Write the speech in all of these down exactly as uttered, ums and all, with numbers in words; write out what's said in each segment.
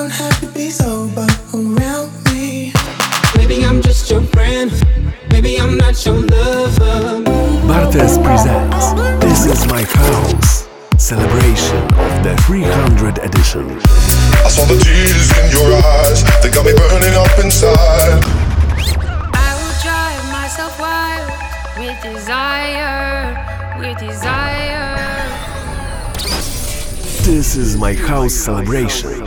don't have to be sober around me. Maybe I'm just your friend. Maybe I'm not your lover. Bartes presents This Is My House, celebration of the three hundred edition. I saw the tears in your eyes, they got me burning up inside. I will drive myself wild with desire, with desire. This is my house celebration.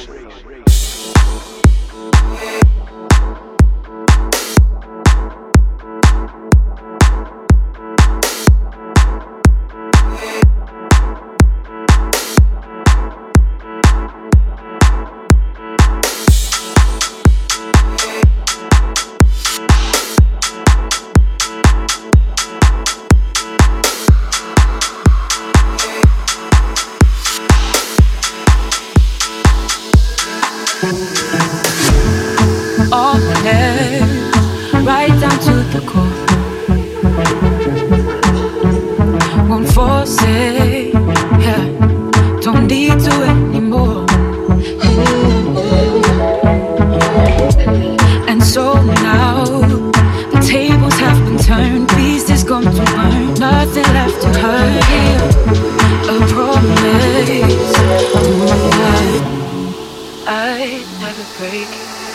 Right down to the core. Won't force it, yeah. Don't need to anymore. And so now the tables have been turned. Peace is gone to burn. Nothing left to hurt. A promise I never break.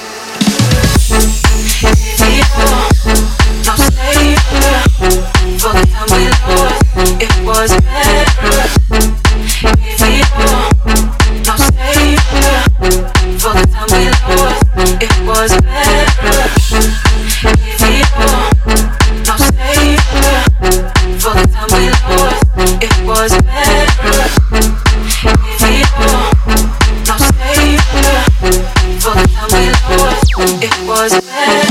No savior for the time we lost. It was better. If you no savior for the time we lost. It was better. If you no savior for the time we lost. It was better. If you no savior for the time we lost. It was better.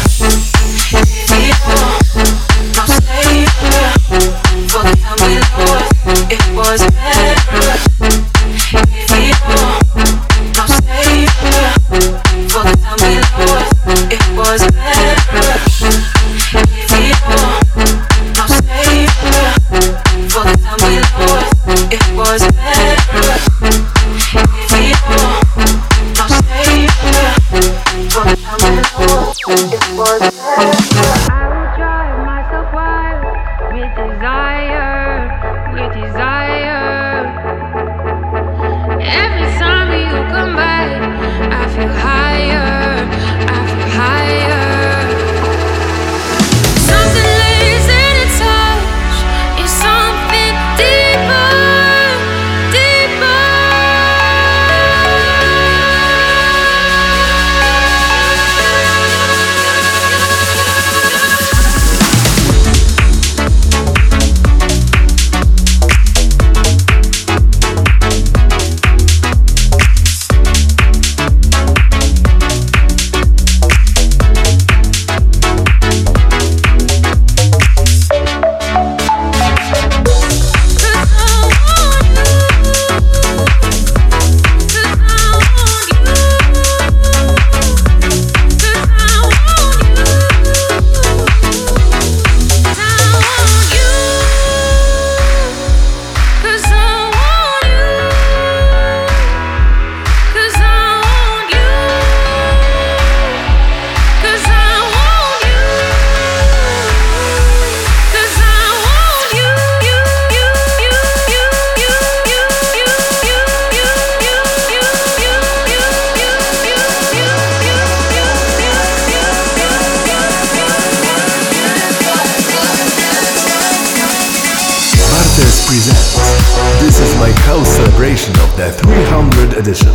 Presents This Is My House celebration of the three hundred edition.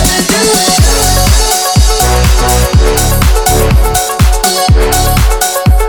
Stop.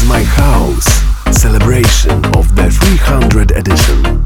My House, celebration of the three hundred edition.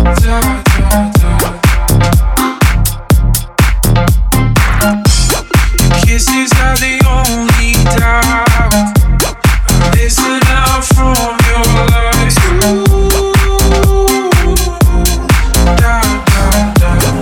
Kisses are the only doubt. Listen out from your lies. Doubt, doubt, doubt.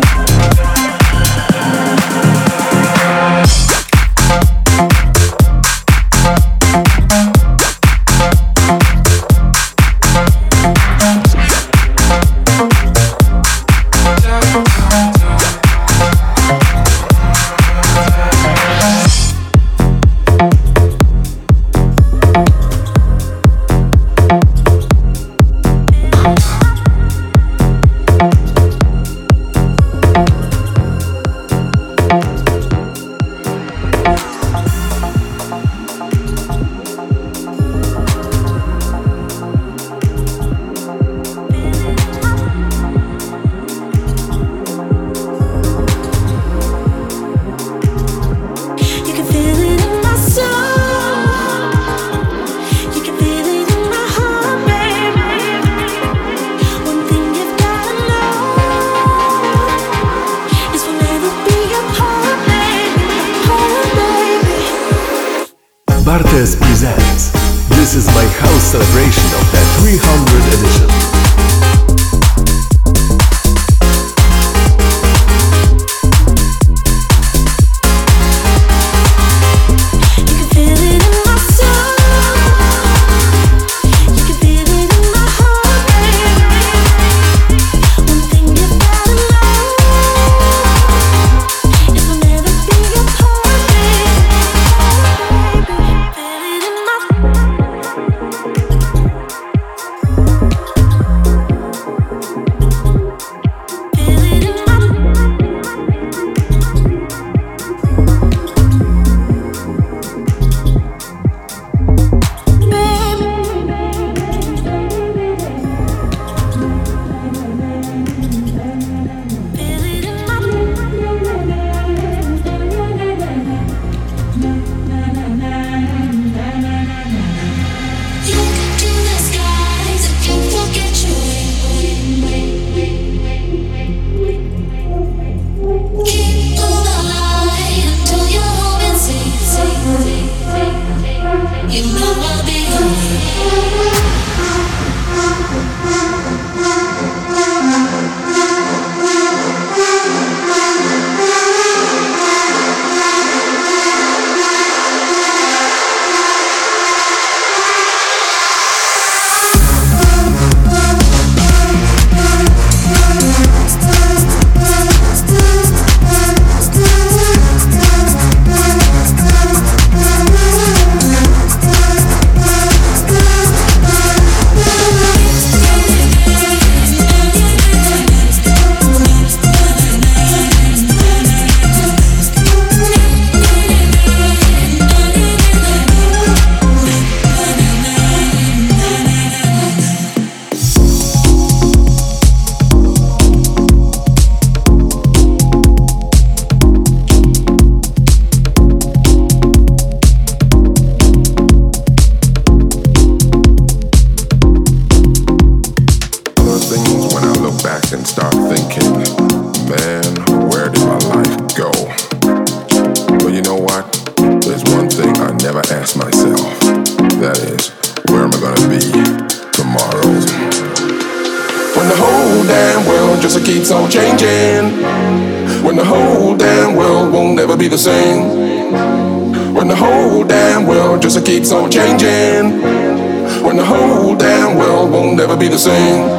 Bartes presents. This is my house celebration of the three hundred edition. just keeps on changing. When the whole damn world won't never be the same. When the whole damn world just keeps on changing. When the whole damn world won't never be the same.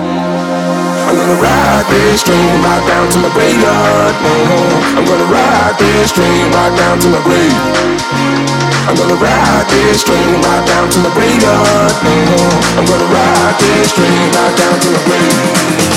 I'm gonna ride this train right down to my graveyard. Mm-hmm. I'm gonna ride this train right down to my grave. I'm gonna ride this train right down to my graveyard. Mm-hmm. I'm gonna ride this train right down to my grave.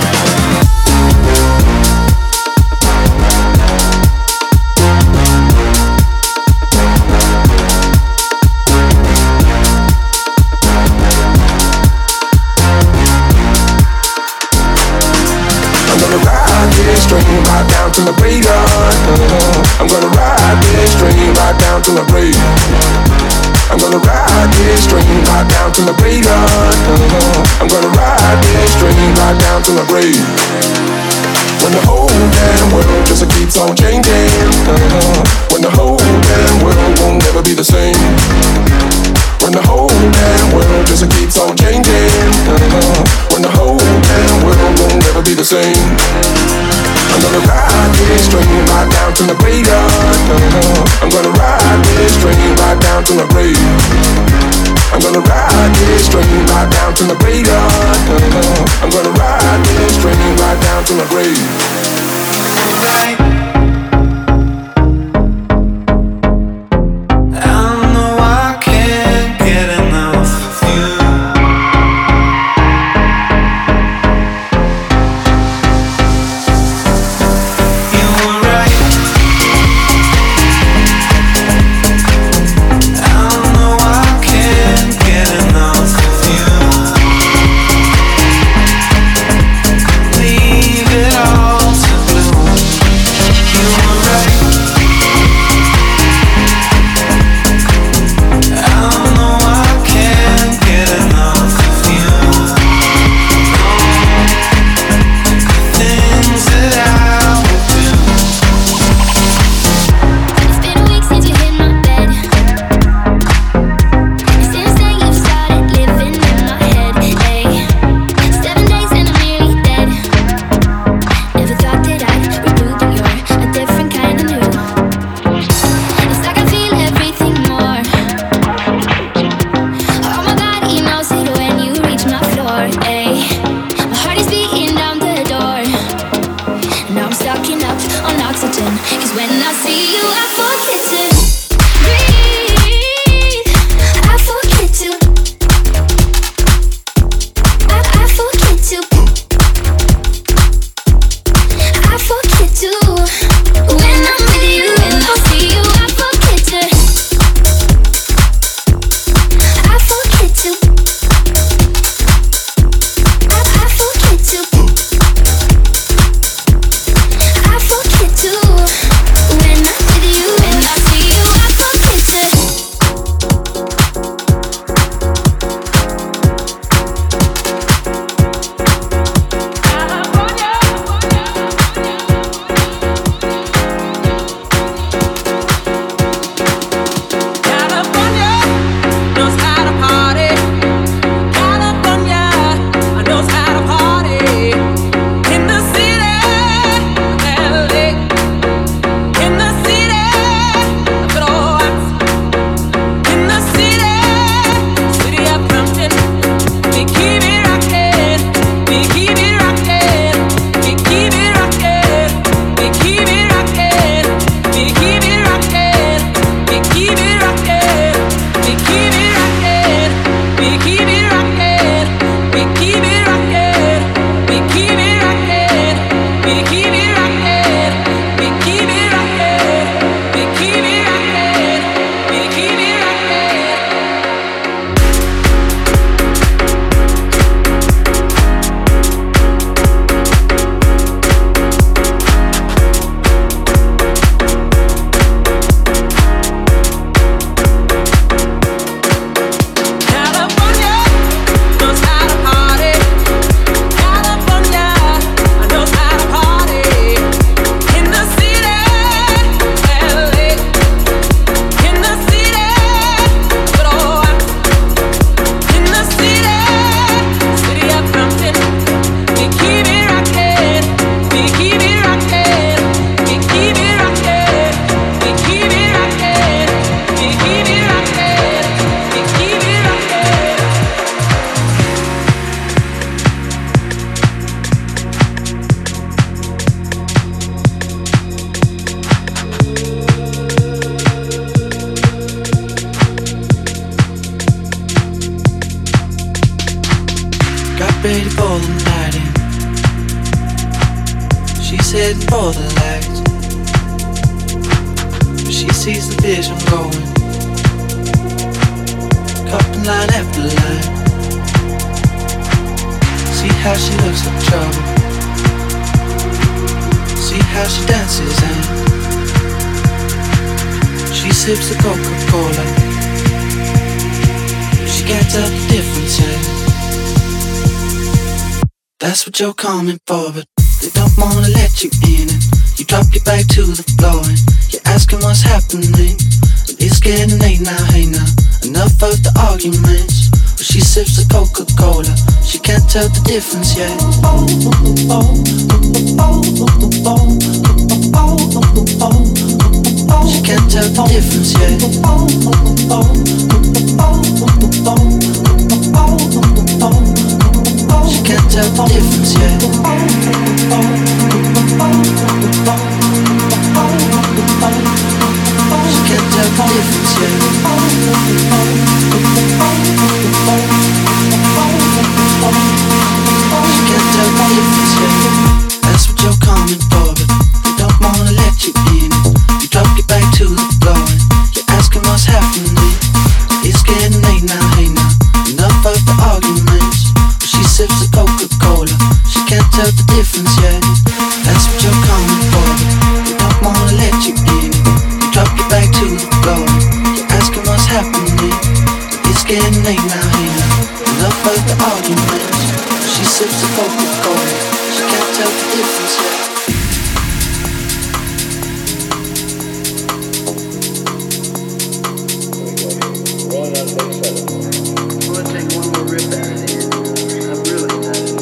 Right down to my graveyard. Uh-huh. I'm gonna ride this train right down to my grave. I'm gonna ride this train right down to my graveyard. Uh-huh. I'm gonna ride this train right down to my grave. When the whole damn world just keeps on changing. Uh-huh. When the whole damn world won't never be the same. When the whole damn world just keeps on changing. Uh-huh. When the whole damn world won't never be the same. I'm gonna ride this train right down to my graveyard. Uh-huh. I'm gonna ride this train right down to my grave. I'm gonna ride this train right down to my graveyard. Uh-huh. I'm gonna ride this train right down to my grave. Right. ready for the night in. She's heading for the light, but she sees the vision going, cupping line after line. See how she looks like trouble, see how she dances and she sips the Coca-Cola. can't tell the difference yet. That's what you're coming for, but they don't wanna let you in it. You drop your back to the floor and you're asking what's happening. It's getting late now, hey now. Enough of the arguments. But she sips the Coca-Cola. She can't tell the difference yet. She can't tell the difference yet. She can't tell the difference yet. She can't tell the difference yet. She can't tell the difference yet. That's what you're coming for, but they don't wanna let you in. You drop your back to the floor and you're asking what's happening. It's getting late now, hey now. Enough of the arguments. But she sips the Coca-Cola. She can't tell the difference yet. That's what you're coming for, but they don't wanna let you in. You drop your back to the floor. You're asking what's happening. It's getting late now, hey now. Enough of the arguments. She sips the Coca-Cola. She can't tell the difference yet. I'm gonna take one more rip out of here. I'm really tired.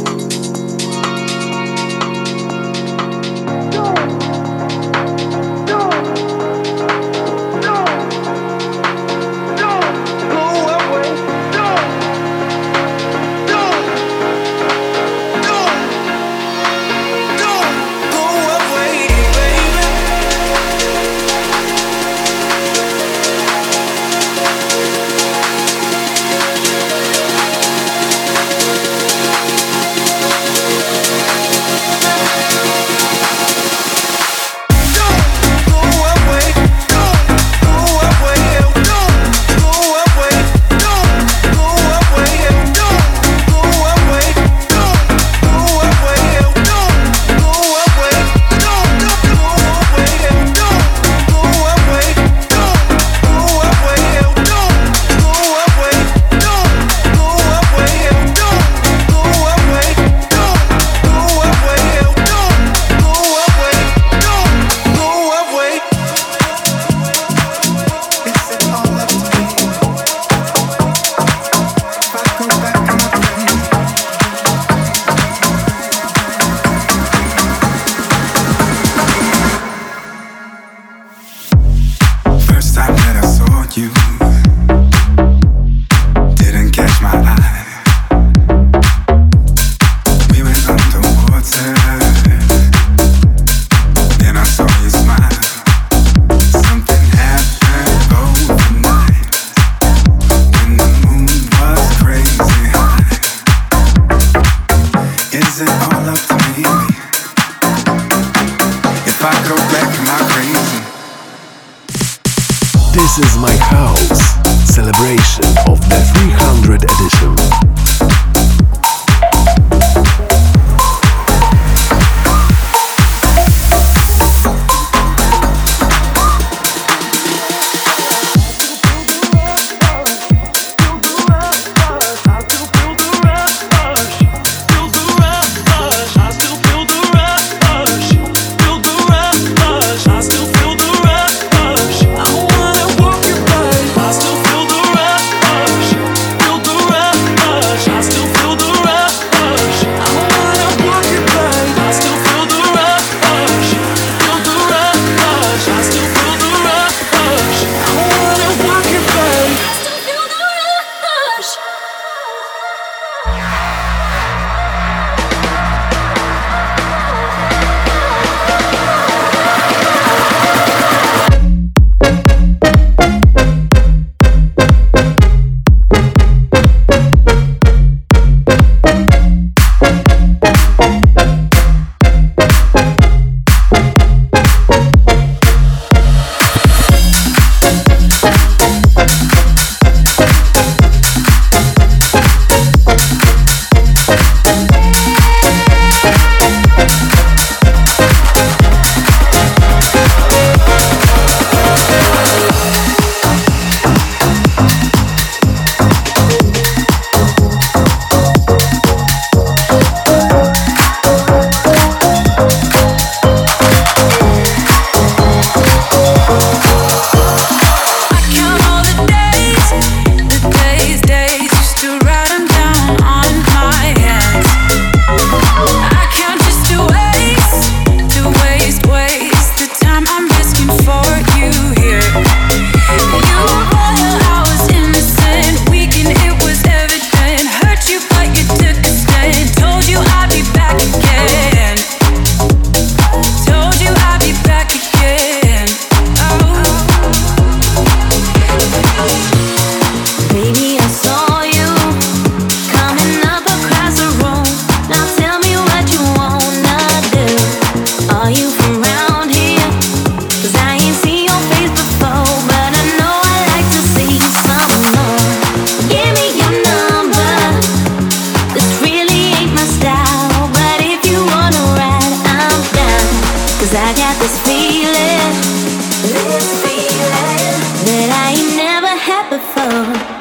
This is my house, celebration of the three hundred edition. I still feel the rush, feel the rush. this feeling, this feeling that I ain't never had before.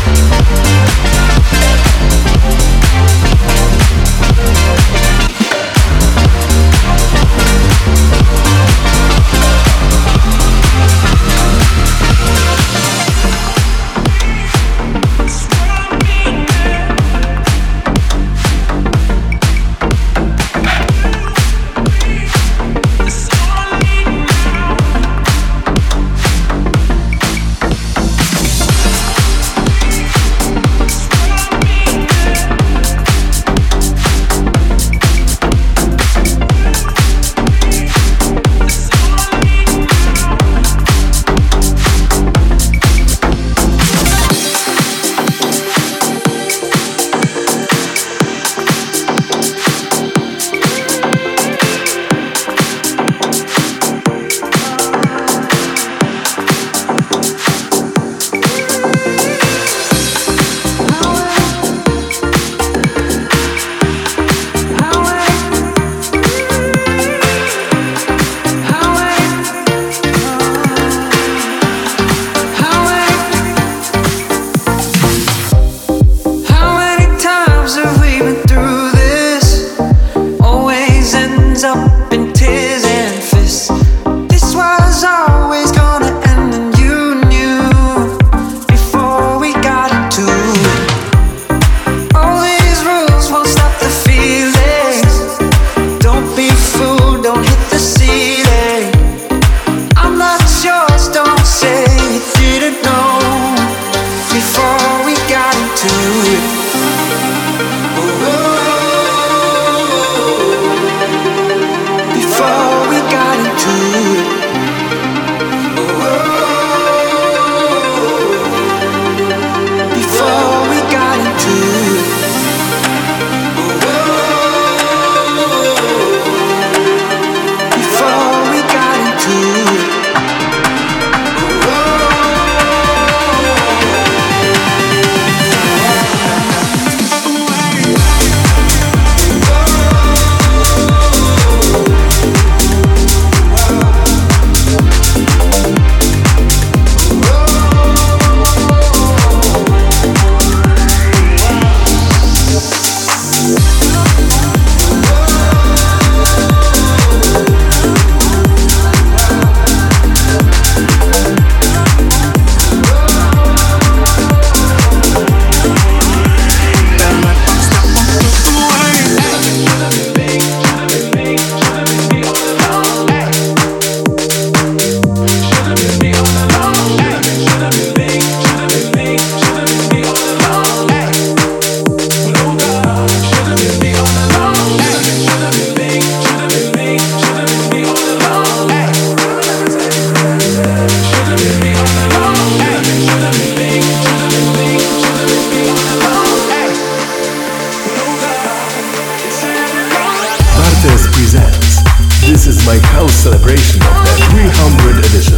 celebration of the three hundred edition.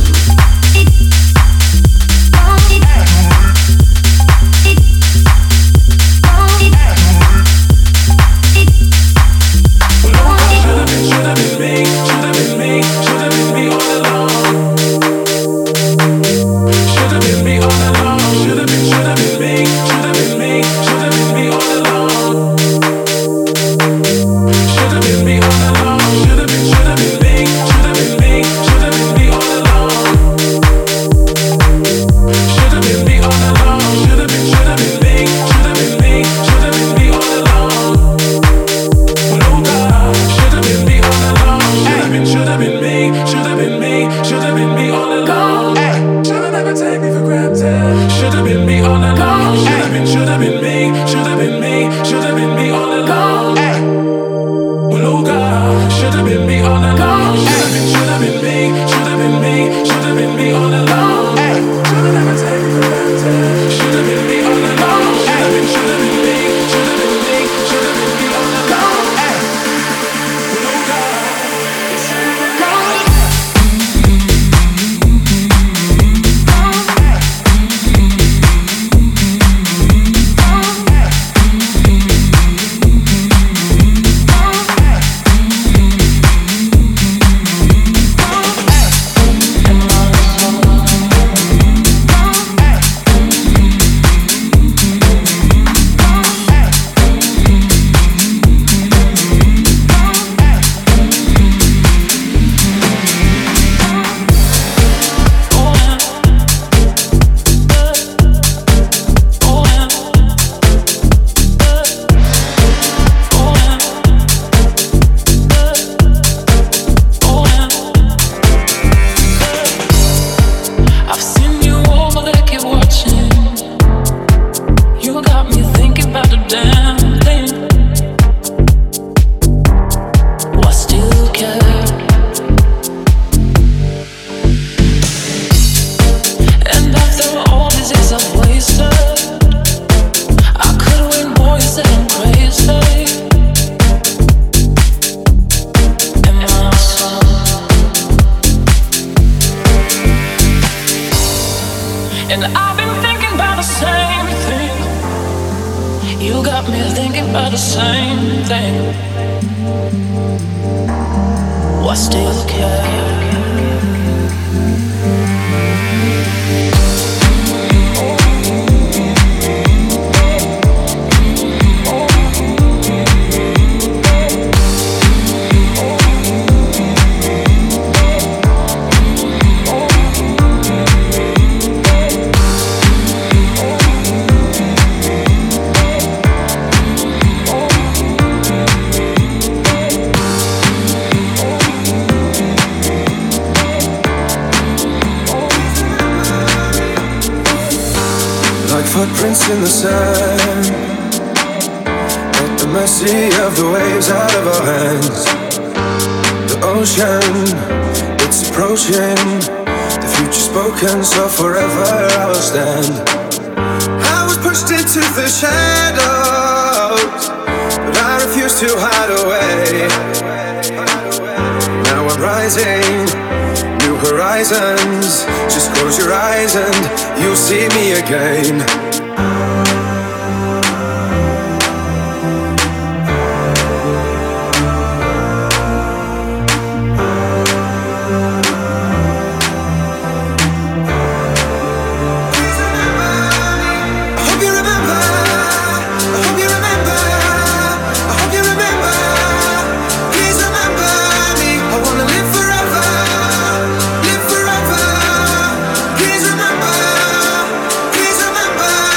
about the same thing. You got me thinking about the same thing. Why still care? Footprints in the sand, at the mercy of the waves out of our hands. The ocean, it's approaching. The future spoken, so forever I will stand. I was pushed into the shadows, but I refuse to hide away. Now I'm rising, new horizons. Just close your eyes and you'll see me again. Remember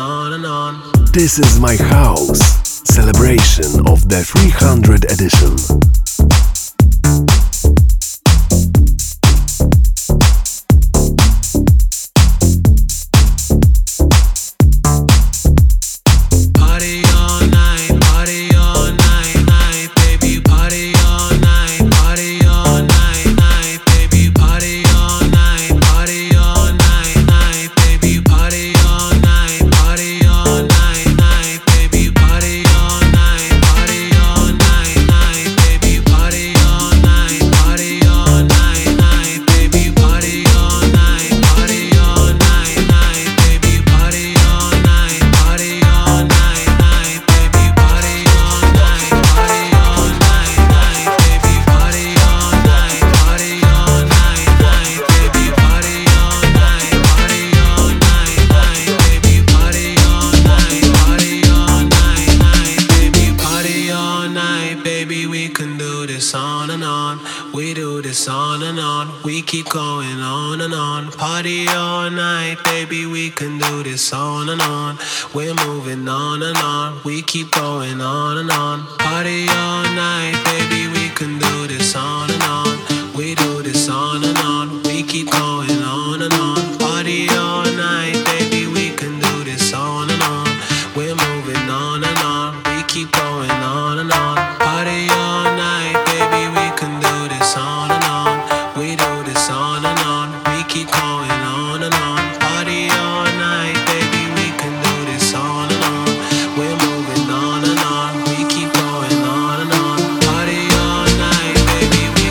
on and on. This is my house. Celebration of the three hundred edition. Keep going on and on, party all night, baby, we can do this on and on. We're moving on and on, we keep going on and on, party all night, baby, we can do this on and on. We do this on and on, we keep going on and on, party all night, baby, we can do this on and on. We're moving on and on, we keep going on and on, party all night, baby, we can do this on and on. We do this on and on, we keep going on and on, party all night, baby, we can do this on and on. We're moving on and on, we keep going on and on, party all night, baby, we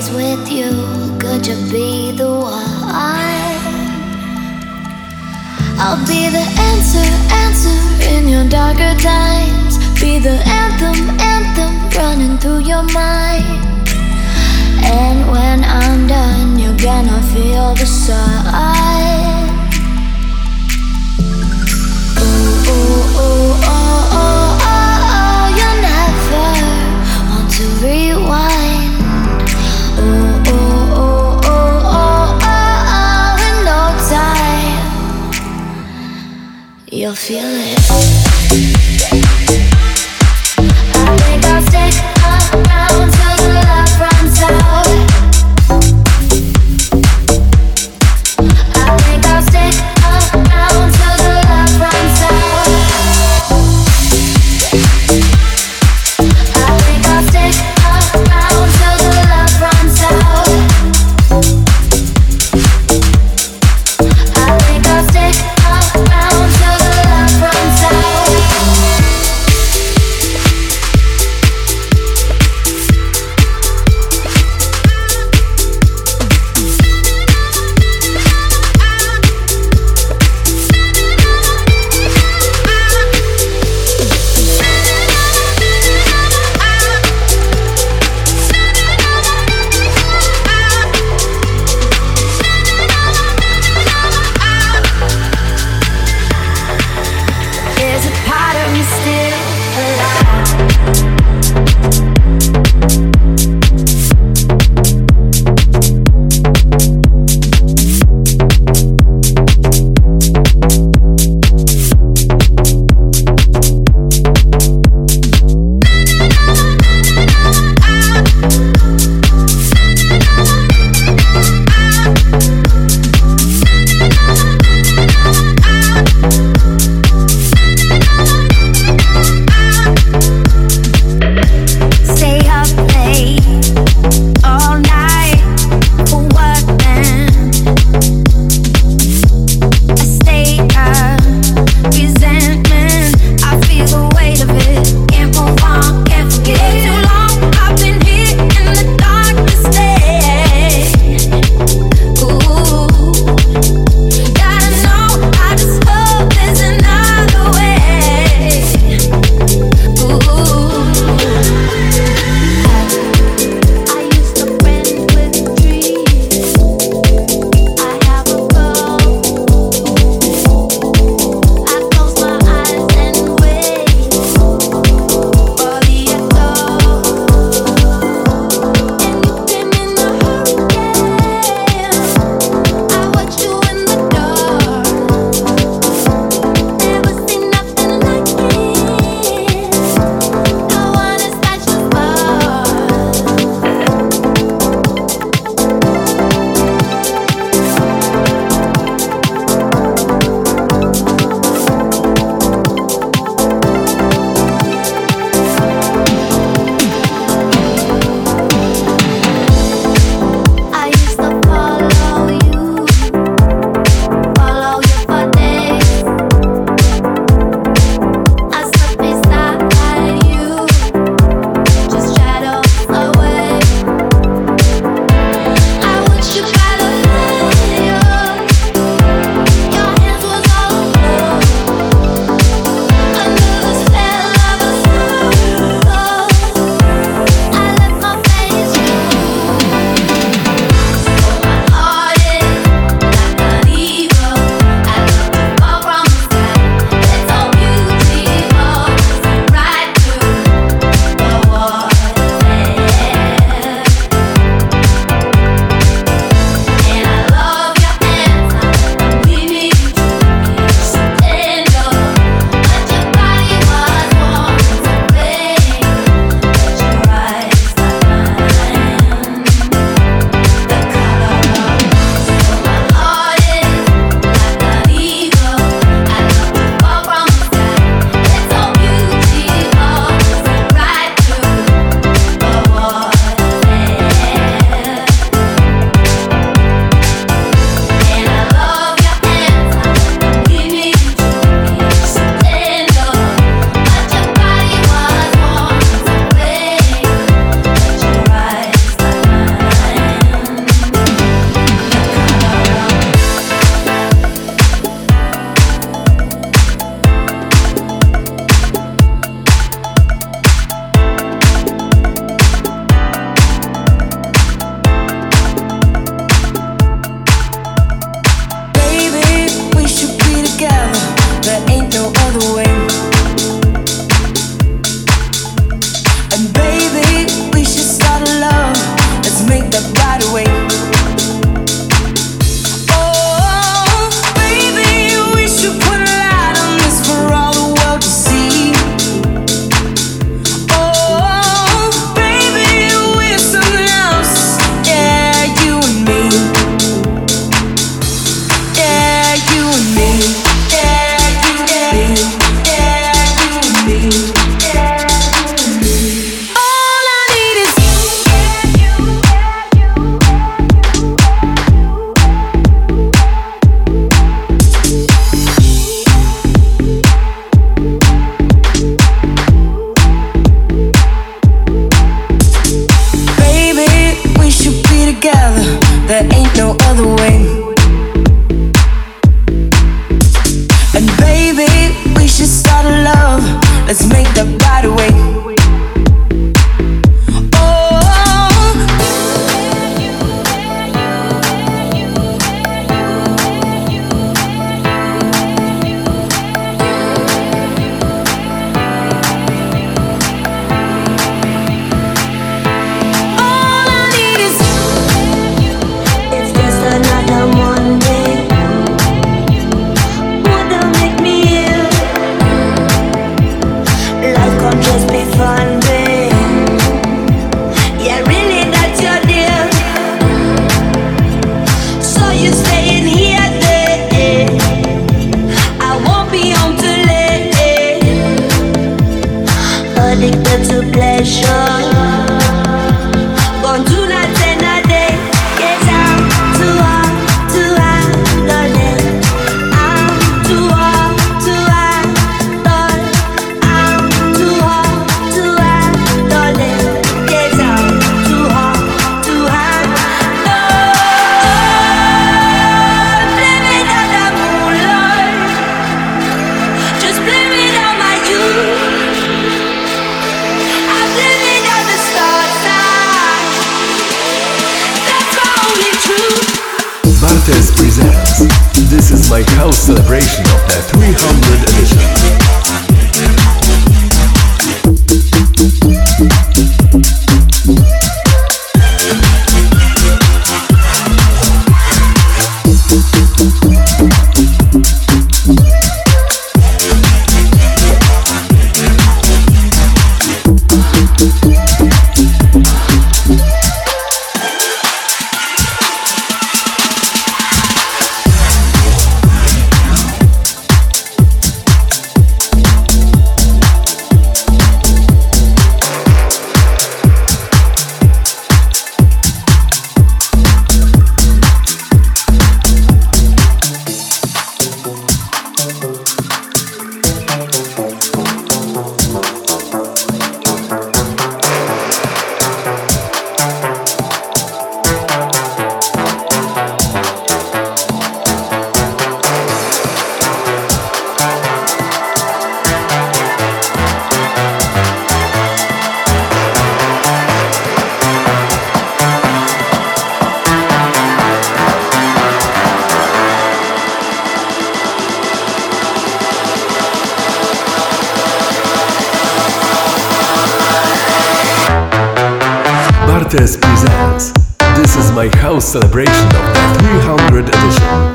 days with you, could you be the one? I'll be the answer, answer in your darker times. Be the anthem, anthem running through your mind. And when I'm done, you're gonna feel the sun. Ooh, ooh, ooh, oh, oh, oh, you never want to rewind. Ooh, ooh, ooh, ooh, oh, oh, oh, in no time you'll feel it. I think I'll stick around till the love runs out. I think I'll stick around till the love runs out. I think I'll stick around till the love runs out. I think I'll stick around till the love runs out. Bartes presents. This is my house celebration of the three hundred edition. Bartes presents. This is my house celebration of the three hundred edition.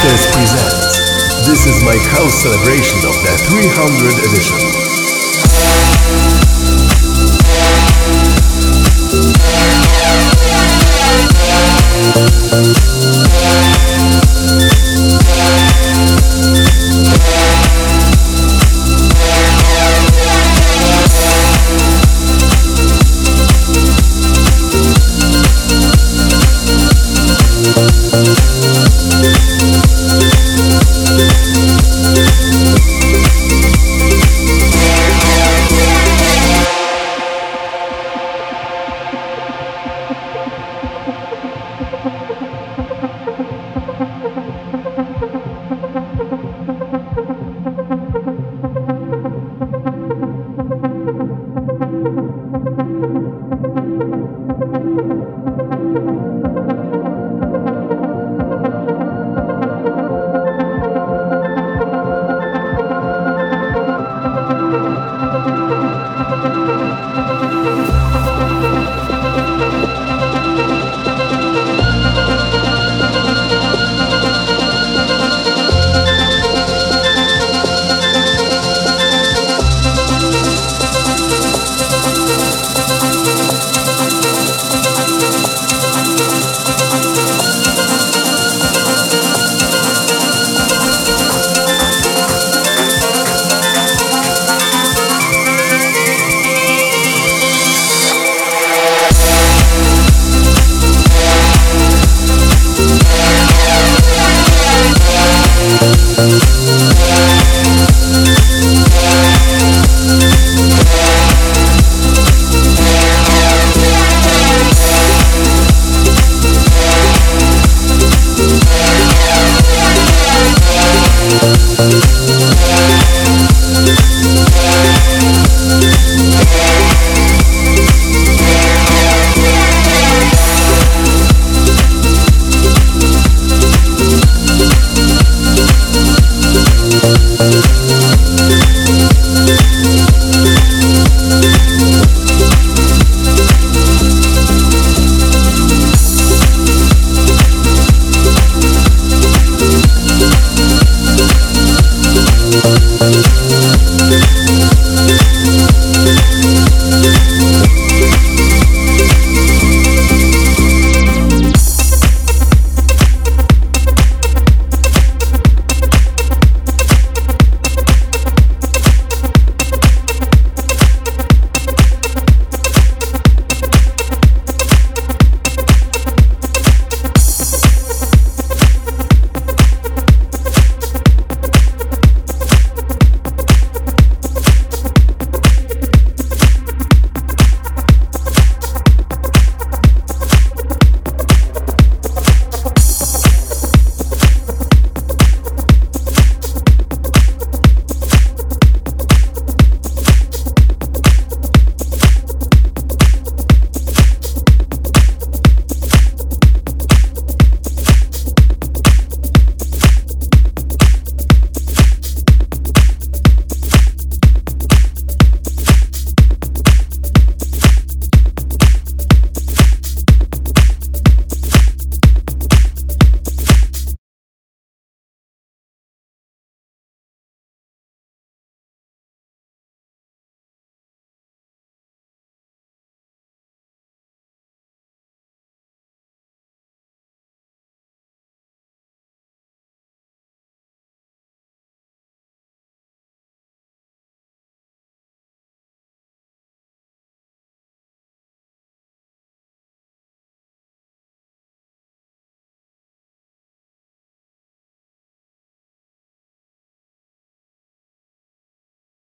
Masters presents This Is My House celebration of the three hundred edition.